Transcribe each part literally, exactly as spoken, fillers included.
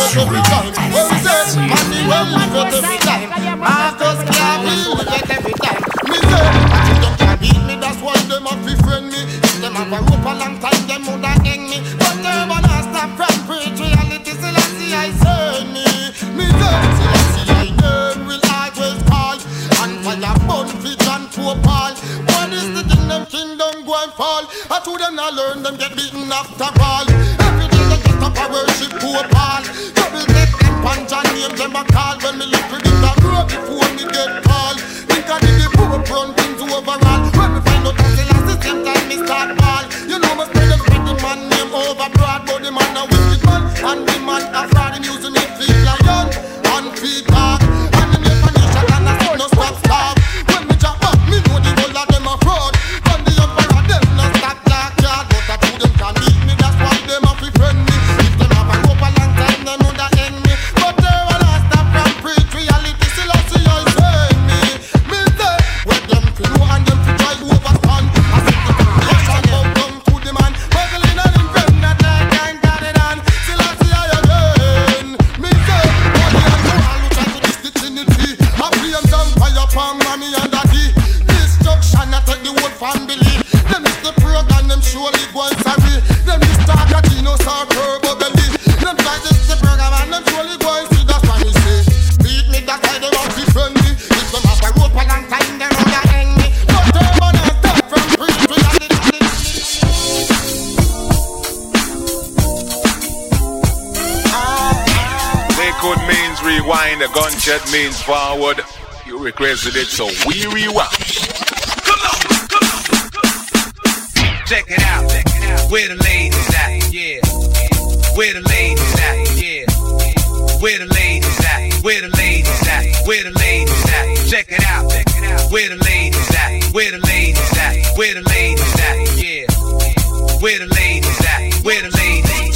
live every time. Well said, money well live every time. Marcus Garvey live every time. Me say, I them can beat me, that's why them have to friend me. If them have a rope a long time, them woulda hang me. But them wanna stop from preach reality, still I see I send me. Me say, still I see I name will always call. And fire burn fit and poor Paul. What is the thing them kingdom go and fall? I to them not learn, them get beaten after all. Every day they get up and worship poor Paul. Double take them punch and name them a call. When me look with it, I grow before me get called. Think I did the poor run things overall. When me find out that the last same time me start ball. You know me spread them spread the man name over broad. But the man a wicked man and the man a fraud. Him using it feet lion and feet dog. And the name nation and I said no stop stop. When me jump up, me know the whole of them a fraud. And the emperor them no stop dark yard. But I two them can beat me, that's why them a fi friend me. If them have a rope a long time, them woulda end me. But they wanna stop from preach reality, still I see I send me. Me say, where them fi know and them fi try overstand. I see the population go down to the man. Muggling and him friend that like I ain't got it on. Still I see I again. Me say, body and soul who try to diss the Trinity. I blame them fire upon mommy and daddy. Destruction I take the whole family. Them is the program, them surely go and sorry. Them is talk at Gino Sir Turbo Belly. Them try to the program and them surely go and see, that's why me say. Beat me, that's why they want to friend me. If them have a rope a long time, they know they hang me. But they wanna start from preach reality. Liquid means rewind, a gunshot means forward. You requested it, so we rewind. Come on, come on, come on. Check it out, check it out. Where the ladies at? Yeah. Where the ladies at? Yeah. Where the ladies at? Where the ladies at? Where the ladies at? Check it out, check it out. Where the ladies at? Where the ladies at? Where the ladies at? Yeah. Where the ladies at? Where the ladies at?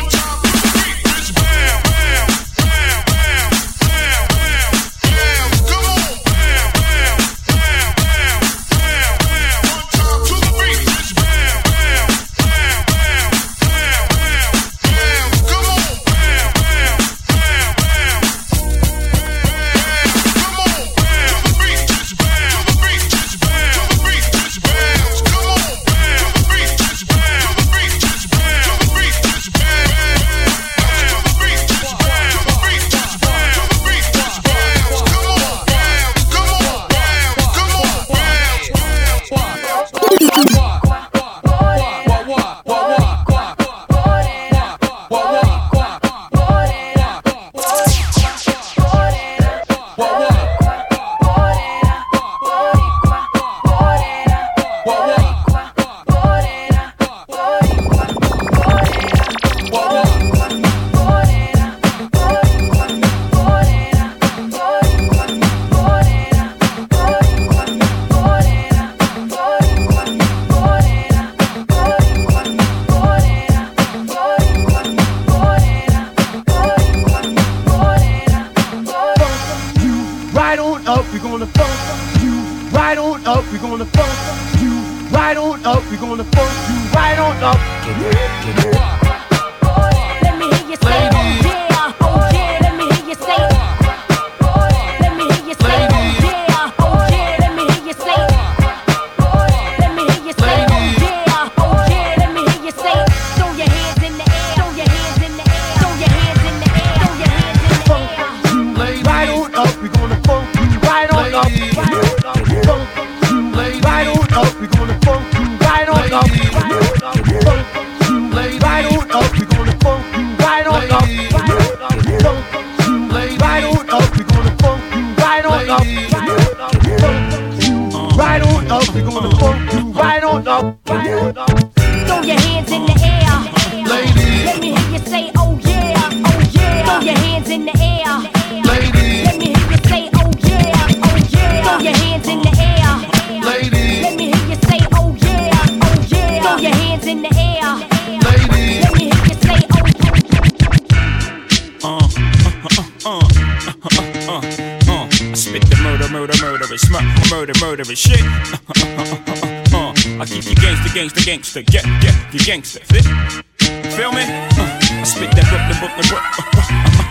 Gangster, get, get, you gangster, fit? Feel me? Uh, I spit that Brooklyn, Brooklyn, Brooklyn. Uh, uh, uh,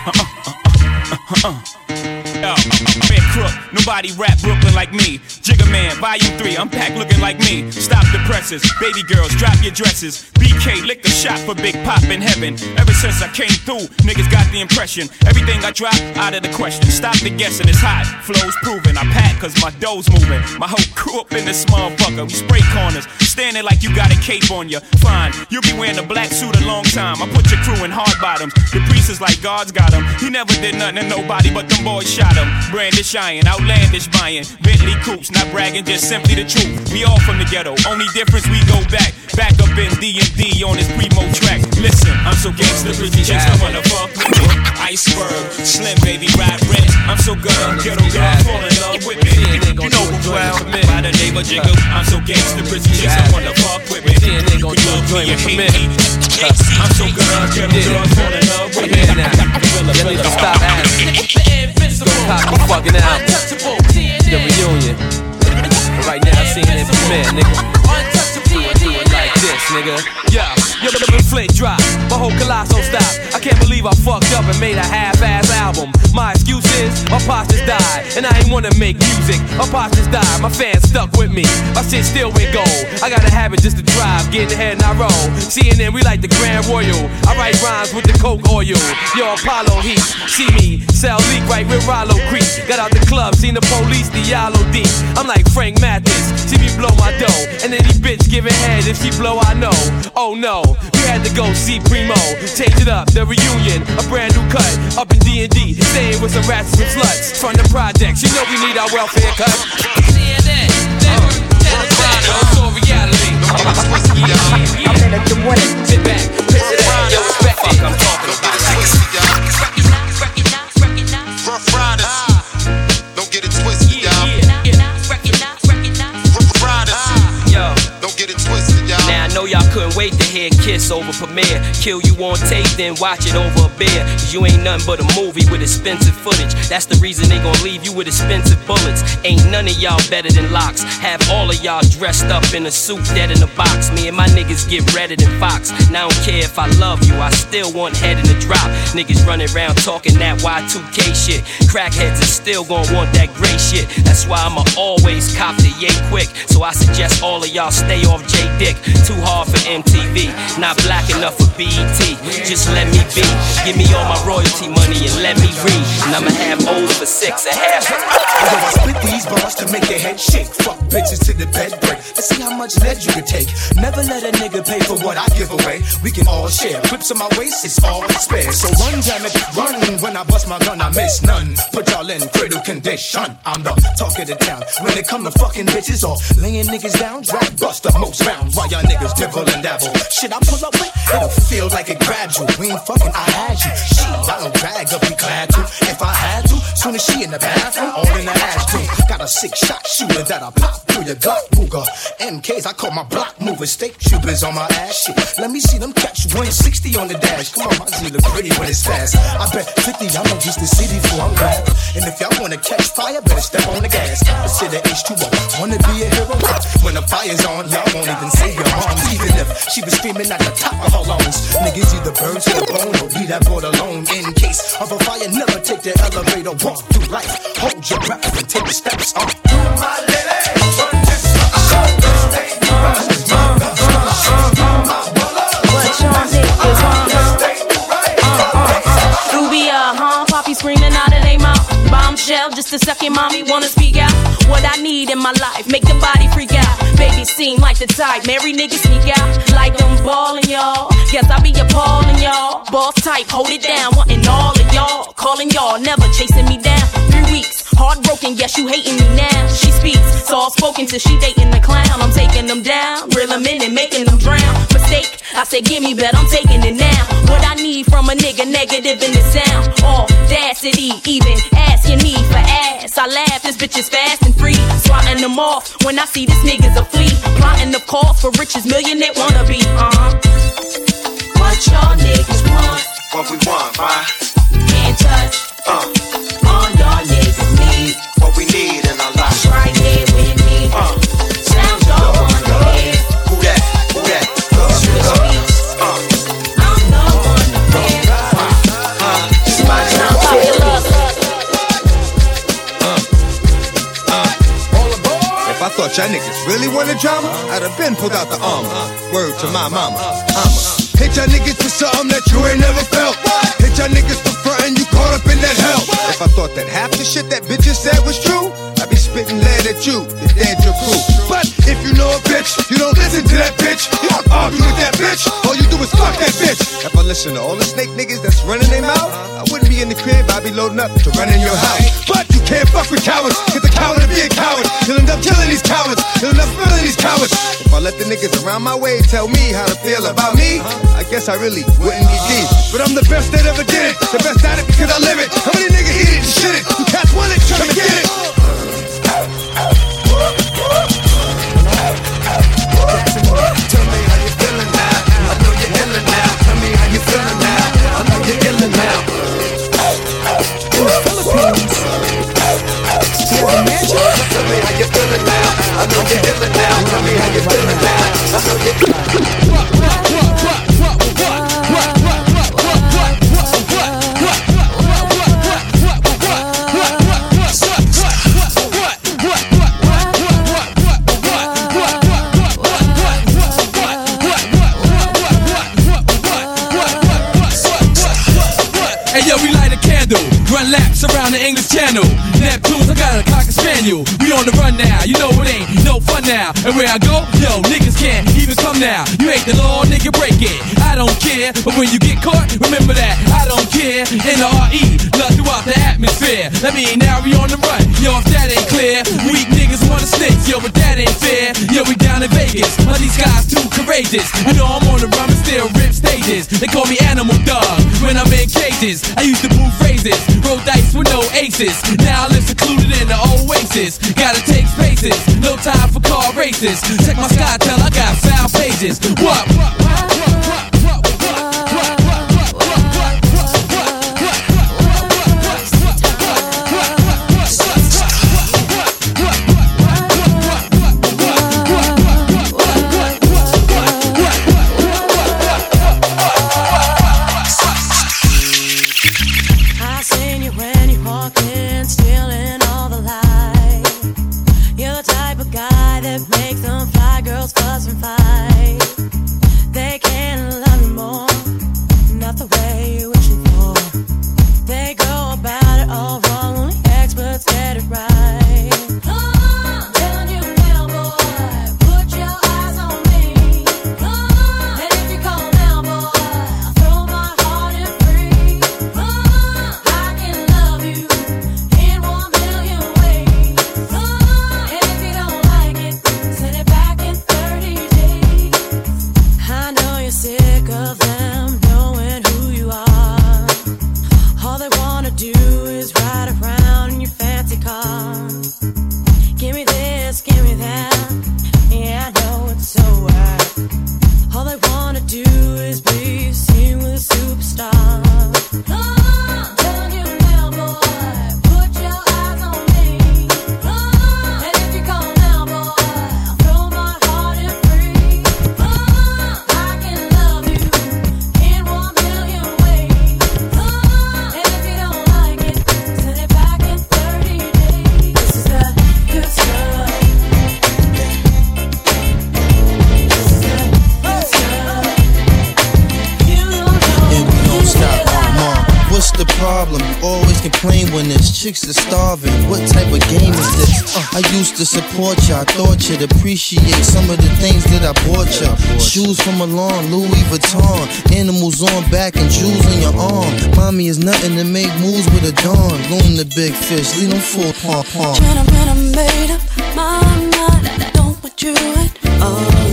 Uh. Yo, Red Crook, nobody rap Brooklyn like me. Jigga Man, Volume three, I'm packed looking like me. Stop the presses, baby girls, drop your dresses. B K, lick a shot for Big Pop in heaven. Ever since I came through, niggas got the impression everything I drop, out of the question. Stop the guessing, it's hot, flow's proven. I pack cause my dough's moving. My whole crew up in this motherfucker. We spray corners, standing like you got a cape on you. Fine, you'll be wearing a black suit a long time. I put your crew in hard bottoms. The priest is like God's got him. He never did nothing to nobody but them boys shot him. Brandish iron, outlandish buying Bentley coupes, not bragging, just simply the truth. We all from the ghetto, only difference we go back. Back up in D and D on this primo track. Listen, I'm so gangsta, pretty chicks I wanna fuck with me. Iceberg, Slim Baby, ride rent. I'm so good, ghetto girls fall in love with me. You know who well, by the name of Jigga. I'm so gangsta, pretty chicks I wanna fuck with me. You love me and hate me. I'm so good, ghetto girls fall in love with me. You need to stop asking. Pop the fucking out. The reunion. Right now, seeing it premiere, nigga. Do it, do it like this, nigga. Yeah, yo, the Flint drop. My whole colossal stop. I can't believe I fucked up and made a half-ass album. My excuse is, my pops just died, and I ain't wanna make music. My pops just died, my fans stuck with me. My shit still went gold. I got a habit just to drive, get ahead and I roll. C N N, we like the Grand Royal. I write rhymes with the Coke oil. Yo, Apollo Heat, see me, sell leak right with Rollo Creek. Got out the club, seen the police, the Yellow deep. I'm like Frank Mathis, see me blow my dough, and any bitch giving head if she blow, I know. Oh no, we had to go see Primo, change it up, the reunion, a brand new cut, up in D and D, staying with some rats and some sluts from the projects. You know we need our welfare cut. C N N, never, never, it's all reality. I'm in a good way. Sit back, piss it out, yo, respect it. I'm talking about Recognize, recognize, recognize. Rough Riders, don't get it twisted, y'all. Recognize, recognize, recognize. Rough Riders, yo, don't get it twisted, y'all. Now I know y'all couldn't wait to hear Kiss over premiere. Kill you on tape, then watch it over a beer. Cause you ain't nothing but a movie with expensive footage. That's the reason they gon' leave you with expensive bullets. Ain't none of y'all better than Locks. Have all of y'all dressed up in a suit, dead in a box. Me and my niggas get redder than Fox. Now I don't care if I love you, I still want head in the drop. Niggas running around talking that Y two K shit. Crackheads is still gon' want that gray shit. That's why I'ma always cop the yay quick. So I suggest all of y'all stay off J-Dick. Too hard for M T V, not black enough for B E T. Just let me be, give me all my royalty money and let me read. And I'ma have O's for six and half. I split these bars to make their head shake. Fuck bitches to the bed break. Let's see how much lead you can take. Never let a nigga pay for what I give away. We can all share. Clips on my waist, it's all spare. So run, damn it, run. When I bust my gun, I miss none. Put y'all in cradle condition. I'm the talk of the town. When it come to fucking bitches or laying niggas down, drag bust the most rounds while y'all niggas dibble and dabble. Shit, I pull up with, it'll feel like it grabbed you. We ain't fucking, I had you. Shit, I don't drag up, be glad to. If I had to, soon as she in the bathroom, all in the ass too. Got a six shot shooter that I pop through your gut, Ruger. M Ks, I call my block movers, steak troopers on my ass shit. Let me see them catch one sixty on the dash. Come on, my Z look pretty when it's fast. I bet fifty, I'ma use the city before I'm back. And if y'all wanna catch fire, better step on the gas. Consider H two O, wanna be a hero. When the fire's on, y'all won't even say your moms. Even if she was screaming at the top of her lungs. Niggas either burn to the bone or leave that board alone. In case of a fire, never take the elevator, walk through life. Hold your breath and take the steps up. My lady, run this up. Stay right. What y'all niggas want? Rubia, huh? Poppy screaming out of they mouth. Bombshell, just a second, mommy wanna speak out. What I need in my life, make the body freak out. Baby seem like the type, marry niggas sneak out. Like them ballin', y'all. Guess I be appallin', y'all. Boss type, hold it down, wantin' all of y'all. Calling y'all, never chasing me down. Three weeks, heartbroken, guess you hating me now. She speaks, soft spoken till she dating the clown. I'm taking them down, reel them in and making them drown. Mistake, I said give me, bet I'm taking it now. What I need from a nigga, negative in the sound. Audacity, even ask your need for ass. I laugh, this bitch is fast and free. Swatting them off when I see this nigga's a flea. Plotting the cause for riches, millionaire wannabe. Uh-huh. What y'all niggas want? What we want, why? Can't touch. Uh. All y'all niggas need. What we need in our lives. Right here with me. Uh. Sound y'all wanna hear. Who that? Who that? Switch beats. Uh. I'm the one to fear. Uh. Sound popular. Y'all niggas really want a drama? I'd have been pulled out the armor. Word to my mama. I'ma hit y'all niggas for something that you ain't never felt. Hit y'all niggas for frontin', you caught up in that hell. If I thought that half the shit that bitches said was true, I'd be spitting lead at you, the dead your crew. But if you know a bitch, you don't listen to that bitch. You don't argue with that bitch. All you do is fuck that bitch. If I listen to all the snake niggas that's running their mouth, I wouldn't be in the crib, I'd be loading up to run in your house. But you can't fuck with cowards, cause the coward will be a coward. You'll end up killing these cowards, you'll end up killing these cowards. If I let the niggas around my way tell me how to feel about me, I guess I really wouldn't get deep. But I'm the best that ever did it, the best at it because I live it. How many niggas eat it and shit it? You cats want it, come and get it. Tell me how you feeling now. I know you're illin' now. Tell me how you feeling now. I know you're illin' now. In the Philippines, he has a mansion. Tell me how you feeling now. I know you're illin' now. Tell me how you feeling now. I know you're what, what, what, what, what, what, what, what, what, what, what, run laps around the English Channel. Neptunes, I got a cocker spaniel. We on the run now, you know it ain't no fun now. And where I go, yo, niggas can't even come now. You ain't the law, nigga, break it. I don't care, but when you get caught, remember that I don't care. N R E, love throughout the atmosphere. That mean now we on the run, yo, if that ain't clear. Weak niggas wanna snitch, yo, but that ain't fair. Yo, we down in Vegas, but these guys too courageous. You know I'm on the run and still rip stages. They call me Animal Dog when I'm in cages. I used to move phrases, roll dice with no aces. Now I live secluded in the oasis. Gotta take spaces, no time for car races. Check my SkyTel, I got foul pages. What? What? What? What? What? Chicks are starving, what type of game is this? Uh, I used to support ya, I thought you'd appreciate some of the things that I bought ya. Shoes from Milan, Louis Vuitton, animals on back and jewels on your arm. Mommy is nothing to make moves with a dawn. Loan the big fish, leave them full pom pom. Gentlemen, I made up my mind, I don't want you at all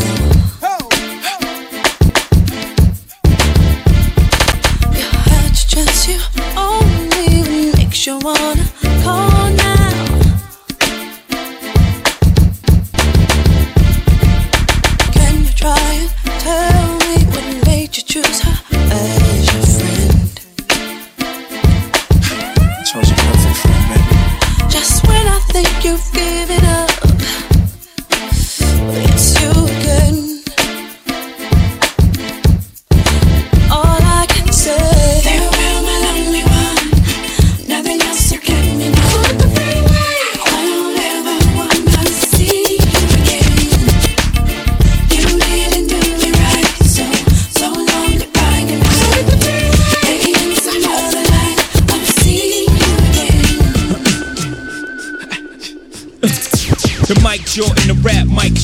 now. You had your chance, you only makes you wanna call now. Can you try and tell me what made you choose her as your friend? I chose your perfect friend, baby. Just when I think you've given up, it's you again. All I can say, farewell, my lonely one. Nothing else to get me now. I don't ever wanna see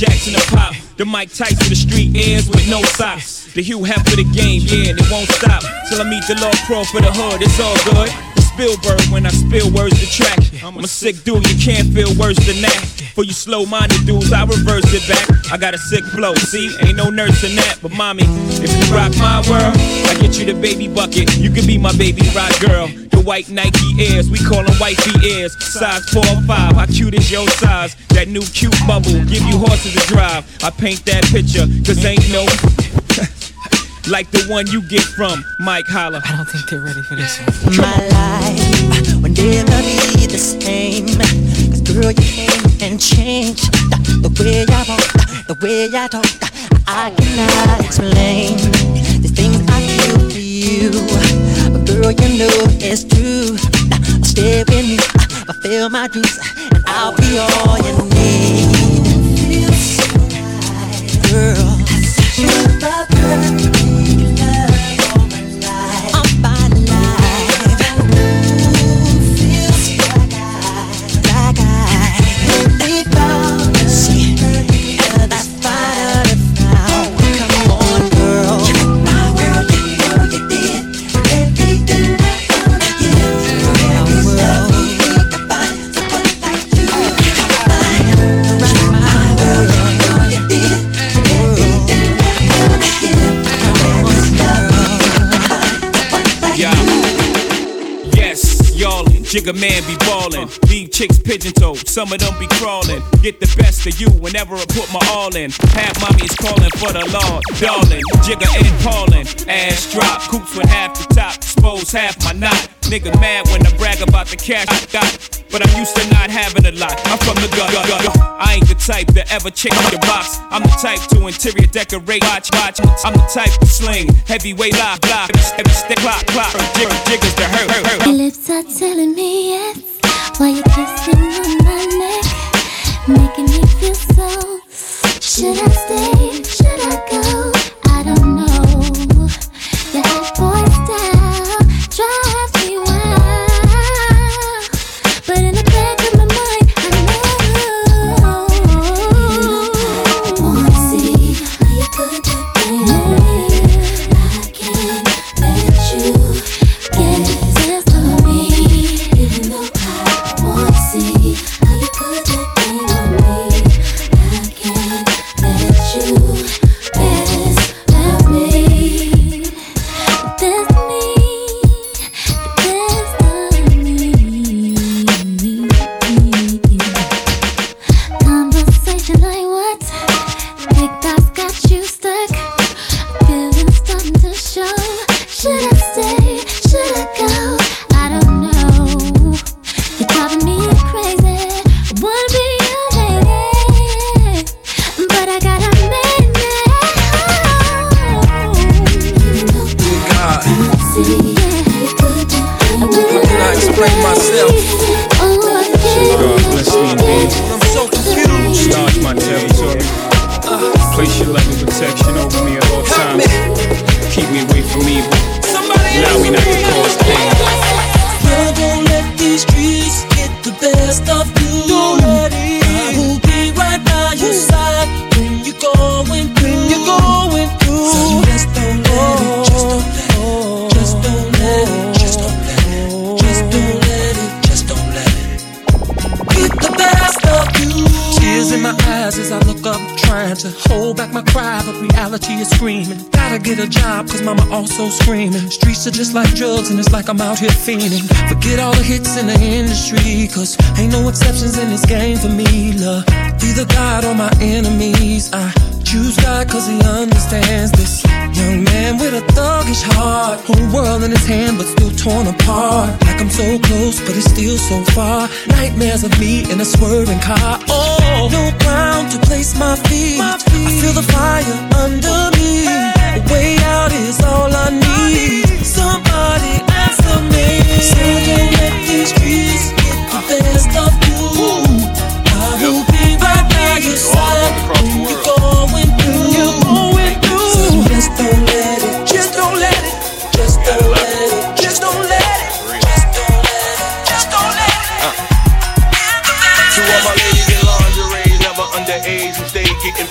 Jackson and Pop, the Mike Tyson, the street airs with no socks. The Hugh Hef for the game, yeah, and it won't stop till I meet the Lord Pro for the hood. It's all good. Spielberg when I spill words to track. I'm a sick dude, you can't feel worse than that. For you slow-minded dudes, I reverse it back. I got a sick flow, see, ain't no nurse in that. But mommy, if you rock my world, I get you the baby bucket. You can be my baby rock girl. The white Nike Airs, we call them wifey ears. Size four or five, how cute is your size? That new cute bubble, give you horses to drive. I paint that picture, cause ain't no like the one you get from Mike Holler. I don't think they're ready for this one. My life will never be the same. Cause girl, you came and changed the, the way I walk, the way I talk. I cannot explain the things I feel for you. But girl, you know it's true. Stay with me, fulfill my dreams, and I'll be all you need. Girl, you're the girl. Jigga man be ballin', leave chicks pigeon-toed, some of them be crawlin'. Get the best of you whenever I put my all in. Half mommy's callin' for the Lord, darling. Jigga and Paulin', ass drop, coops with half the top, expose half my knot. Nigga mad when I brag about the cash I got, but I'm used to not having a lot. I'm from the gut, gut, gut. I ain't the type to ever change the box. I'm the type to interior decorate, watch, watch. I'm the type to sling, heavyweight lock, lock, every step, clock, clock. Jigger, jiggers to hurt, hurt, hurt. Your lips are telling me yes, while you're kissing on my neck, making me feel so. Should I stay? Should I go? I don't know. Your hot boy style drives me wild, but in the back of my mind, I know. Wanna see how you put that thing on me? I can't let you get this to me, even though I wanna see how you put that thing on me. I can't let you mess with me. That's me, that's not me. Conversation like what? Big thoughts got you stuck. Feelings starting to show. Should I stay? Should I go? I don't know. You're driving me crazy. I wanna be your lady, but I gotta make it home. God, See, yeah. how can I explain myself? Oh, I can't. God bless me indeed. I'm so confused. Enlarge my territory. Place your loving protection over me at all times. Keep me away from evil. Allow me not to cause pain. Girl, don't let these streets get the best of you. Don't let it. I will be right by your side when you're going through. When you're going through. So just don't let it. Just don't let it. Just don't let it. Just don't let it. Just don't let it. Just don't let it. Get the best of you. Tears in my eyes as I look up, trying to hold back my cry, but reality is screaming. Gotta get a job, cause mama also screaming. Streets are just like drugs, and it's like I'm out here fiending. Forget all the hits in the industry, cause ain't no exceptions in this game for me, love. Either God or my enemies. I choose God cause he understands this. Young man with a thuggish heart, whole world in his hand but still torn apart. Like I'm so close but it's still so far. Nightmares of me in a swerving car. Oh, no ground to place my feet. I feel the fire under me. A way out is all I need. Somebody answer me. So don't let these streets get the best of you. I will be right by your side when you're going through. You're going through. So just don't let it. Just don't let it. Just don't let it. Just don't let it. Just don't let it. Just don't let it. To all my ladies in lingerie, never underage, who stay getting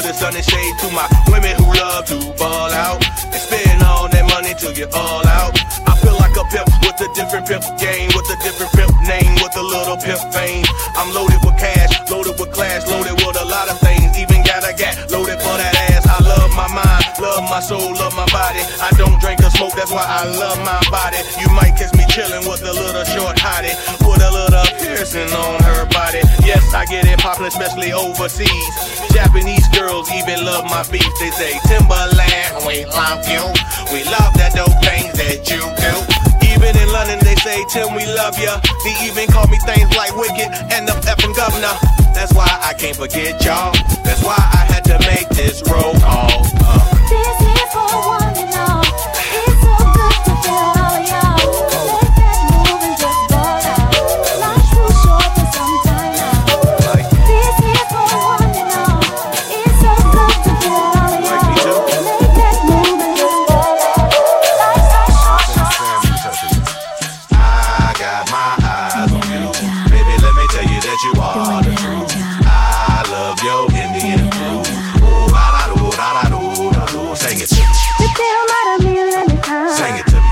the sun and shade to my women who love to ball out and spend all that money till you're all out. I feel like a pimp with a different pimp game, with a different pimp name, with a little pimp fame. I'm loaded with cash, loaded with class, loaded with a lot of things. Even got a gat loaded for that ass. I love my mind, love my soul, love my body. I don't drink or smoke, that's why I love my body. You might catch me chillin' with a little short hottie, with a little piercing on her body. Yes, I get it poppin', especially overseas. Japanese girls even love my beef. They say, Timberland, we love you. We love that dope things that you do. Even in London, they say, Tim, we love ya. They even call me things like Wicked and the effing governor. That's why I can't forget y'all. That's why I had to make this roll call. Uh. This is for one and all. It's so good to feel all of y'all. Let that move and just ball out. Life's too short for some time now. This is for one and all. It's so good to feel all of y'all. Let that move and just ball out. Life's so short for some time. I got my eyes on you. Baby, let me tell you that you are the truth. I love your Indian food. Oh, da da do, da da do, da do. Sing it to me. Sing it to me.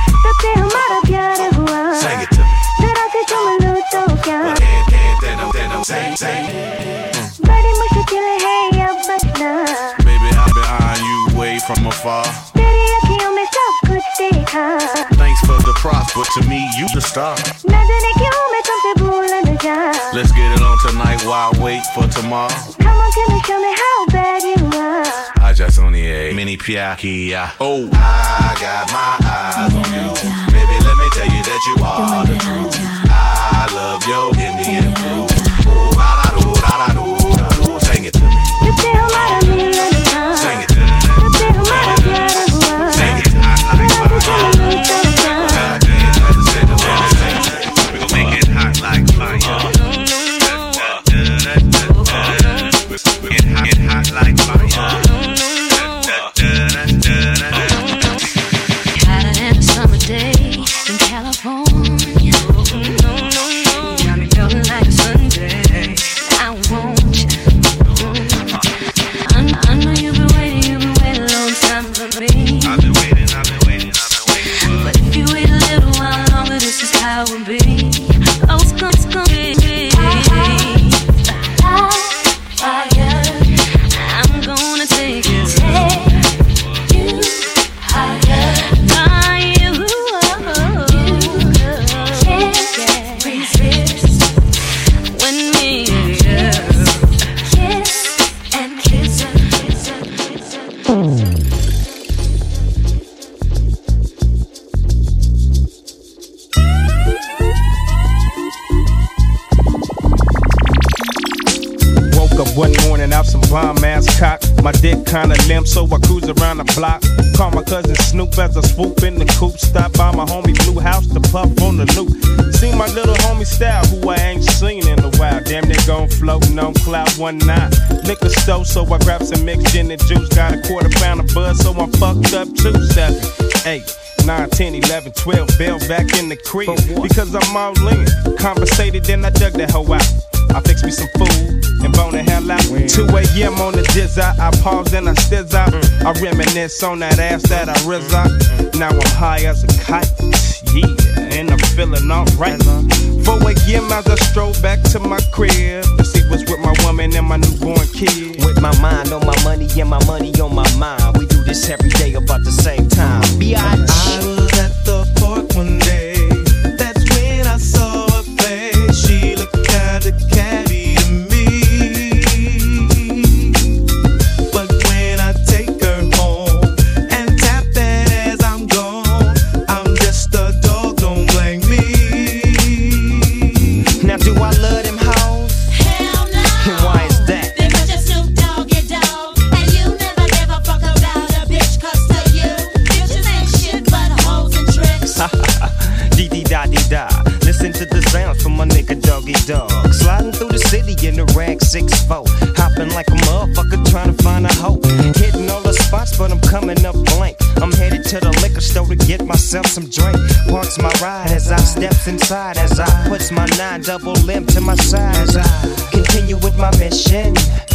Sing it to me. Can't, can't, then I'm, then I'm, sing, sing. Baby, I've been eyeing you way from afar. Thanks for the props, but to me, you the star. Let's get it on tonight while I wait for tomorrow. Come on, Timmy, show me how bad you are. I just only a mini piakia. Oh, I got my eyes on you. Baby, let me tell you that you are the truth. I love your Indian food. Oh, da da do, da da do, da do. Sing it to me. Sing it to me. Sing it. I like fire. We gon' make it hot like fire. Get hot, get hot like fire. Hotter than a summer day in California. Got me feeling like a Sunday. I want you. I, I know you've been waiting, you've been waiting a long time for me. I've been waiting, I've been waiting, I've been waiting. But if you wait a little while longer, this is how it will be. Oh, it's gonna, it's gonna be. I'm gonna take you, take you higher. Now you, can't resist when me kiss and kiss and kiss and kiss and Woke up one morning out some bomb ass cock. My dick kinda limp, so I cruise around the block. Call my cousin Snoop as I swoop in the coupe. Stop by my homie Blue House to puff on the loop. See my little homie Style, who I ain't seen in a while. Damn, they gon' floatin' on cloud one nine. Liquor store, so I grab some mixed gin and juice. Got a quarter pound of buzz, so I'm fucked up too. Seven, eight, nine, ten, eleven, twelve, bell back in the crib. Because I'm all in. Conversated, then I dug that hoe out. I fix me some food and bone the hell out. two a.m. on the jizz out. I pause and I stizz out. I reminisce on that ass that I rizz out. Now I'm high as a kite. Yeah, and I'm feeling alright. four a.m. as I stroll back to my crib to see what's with my woman and my newborn kid. With my mind on my money and my money on my mind. We do this every day about the same time. B I I was at the park one day. That's when I saw her face. She looked kinda catty to me. But when I take her home and tap that as I'm gone, I'm just a dog, don't blame me. Now do I love them hoes? Hell no. And why is that? Because you're Snoop Dogg, your dog. And you never give a fuck about a bitch. Cause to you, bitches ain't shit but hoes and tricks. Dee dee da dee da. Listen to the sounds from my nigga Doggy Dog. Sliding through the city in the rag six four. Hopping like a motherfucker trying to find a hoe. Hitting all the spots, but I'm coming up blank. I'm headed to the liquor store to get myself some drink. Parks my ride as I steps inside. As I puts my nine double limb to my side. As I continue with my mission.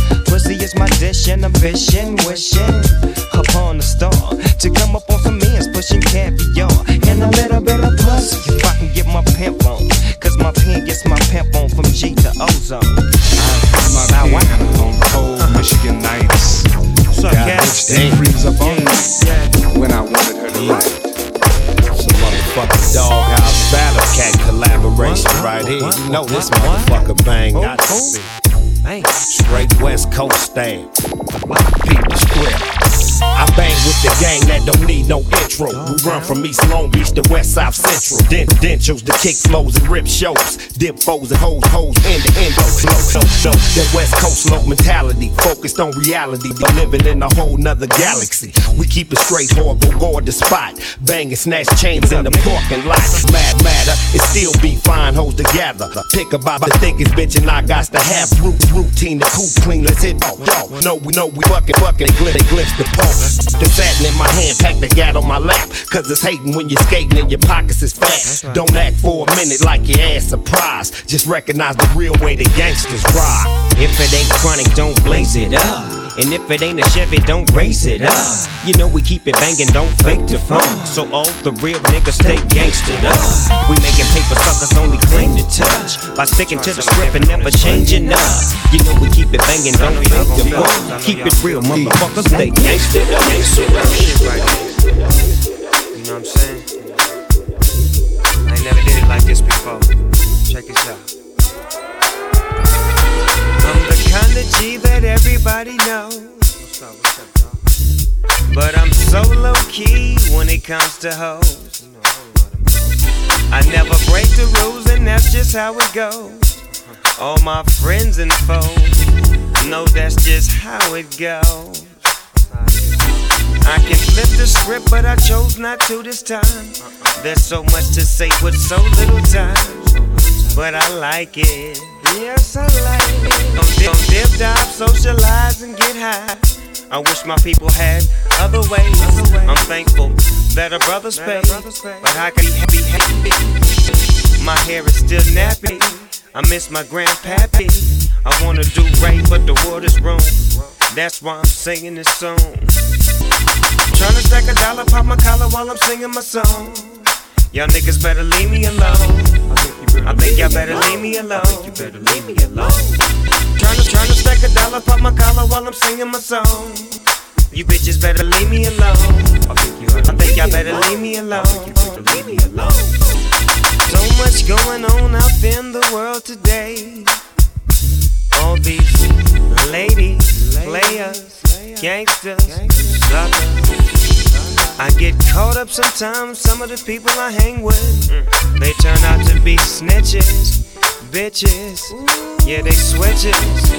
Pussy is my dish and I'm fishing, wishing upon a star to come up on some ends, pushing caviar and a little bit of pussy. If I can get my pimp on, cause my pen gets my pimp on from G to Ozone. I put my pen on cold Michigan nights. What's up, got cat? bitch freeze up on me when I wanted her to write. Some motherfucking Doghouse Battle Cat collaboration right here. You know this motherfucker bang. Got to be straight West Coast stamp. Peep the script. I bang with the gang that don't need no intro. We run from East Long Beach to West South Central. Dent dentures, the kick flows and rip shows. Dip foes and hoes, hoes, end to end. Slow, slow, slow. That West Coast slow mentality, focused on reality. Be living in a whole nother galaxy. We keep it straight, horrible, guard the spot. Bang and snatch chains in the parking lot. Mad matter, it still be fine hoes together. Pick about the thickest bitch and I got to have root, routine, the coop clean. Let's hit oh, yo. No, we know we fucking fucking. They glitch, they glimpse the pole. The satin in my hand, pack the gat on my lap. Cause it's hating when you're skating and your pockets is fat. Don't act for a minute like your ass surprised. Just recognize the real way the gangsters ride. If it ain't chronic, don't blaze it up. And if it ain't a Chevy, don't race it up. You know we keep it banging, don't fake the funk. So all the real niggas stay gangstered up. We making paper suckers only claim to touch. By sticking to the script and never changing up. You know we keep it banging, don't fake the funk. Keep it real, motherfuckers, stay gangstered up. You know what I'm saying? I ain't never did it like this before. Check this out. I'm the kind of G that everybody knows. What's up, what's up, dog? But I'm so low key when it comes to hoes. You know a whole lot of me. I never break the rules and that's just how it goes. All my friends and foes know that's just how it goes. I can flip the script, but I chose not to this time. There's so much to say with so little time, but I like it. Yes, I like it. Don't dip, don't dip, dive, socialize, and get high. I wish my people had other ways. I'm thankful that a brother's paid, but how can he be happy? My hair is still nappy. I miss my grandpappy. I wanna do right, but the world is wrong. That's why I'm singing this song. Tryna stack a dollar, pop my collar while I'm singing my song. Y'all niggas better leave me alone. I think y'all better leave me alone. I think you better leave me alone. Tryna, tryna stack a dollar, pop my collar while I'm singing my song. You bitches better leave me alone. I think you I think y'all better leave me alone. I think you better leave me alone. So much going on out in the world today. All these ladies, players, gangsters, suckers. I get caught up sometimes, some of the people I hang with, they turn out to be snitches, bitches, yeah they switches.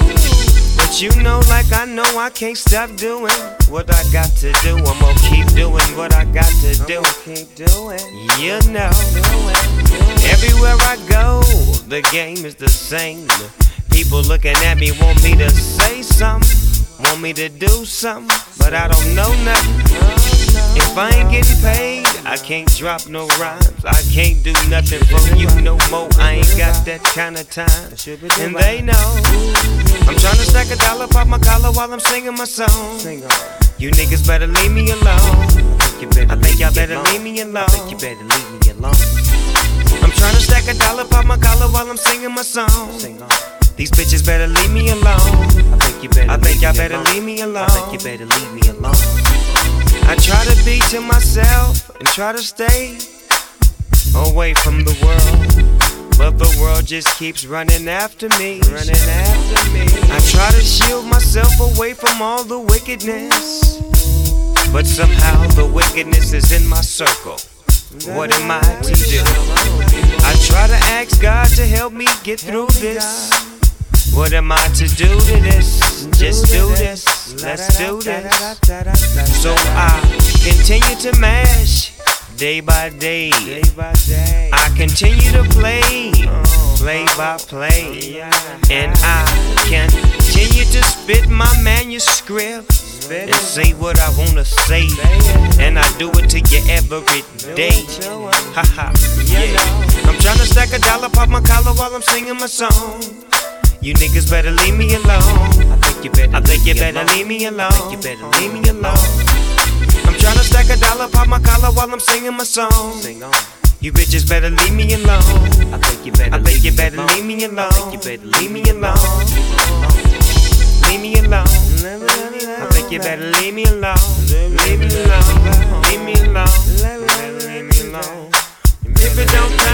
But you know like I know I can't stop doing what I got to do. I'm gonna keep doing what I got to do. Keep doing, you know. Everywhere I go, the game is the same. People looking at me want me to say something, want me to do something, but I don't know nothing. If I ain't getting paid, I can't drop no rhymes. I can't do nothing for you no more. I ain't got that kind of time, and they know. I'm tryna stack a dollar, pop my collar while I'm singing my song. You niggas better leave me alone. I think y'all better leave me alone. I think you better leave me alone. I'm tryna stack a dollar, pop my collar while I'm singing my song. These bitches better leave me alone. I think you better. I think y'all better leave me alone. I think you better leave me alone. I try to be to myself and try to stay away from the world, but the world just keeps running after me. Running after me. I try to shield myself away from all the wickedness, but somehow the wickedness is in my circle. What am I to do? I try to ask God to help me get through this. What am I to do to this? Just do this, let's do this. So I continue to mash day by day. I continue to play, play by play. And I continue to spit my manuscript and say what I wanna say. And I do it to you every day. Haha, yeah. I'm tryna stack a dollar, pop my collar while I'm singing my song. You niggas better leave me alone. I think you better, I think you better leave me alone. I think you better leave me alone. I'm tryna stack a dollar, pop my collar while I'm singing my song. Sing on. You bitches better leave me alone. I think you better, I think you better leave me alone. I think you better leave me alone. Leave me alone. I think you better leave me alone. Leave me alone. Leave me alone. Leave me alone. If it don't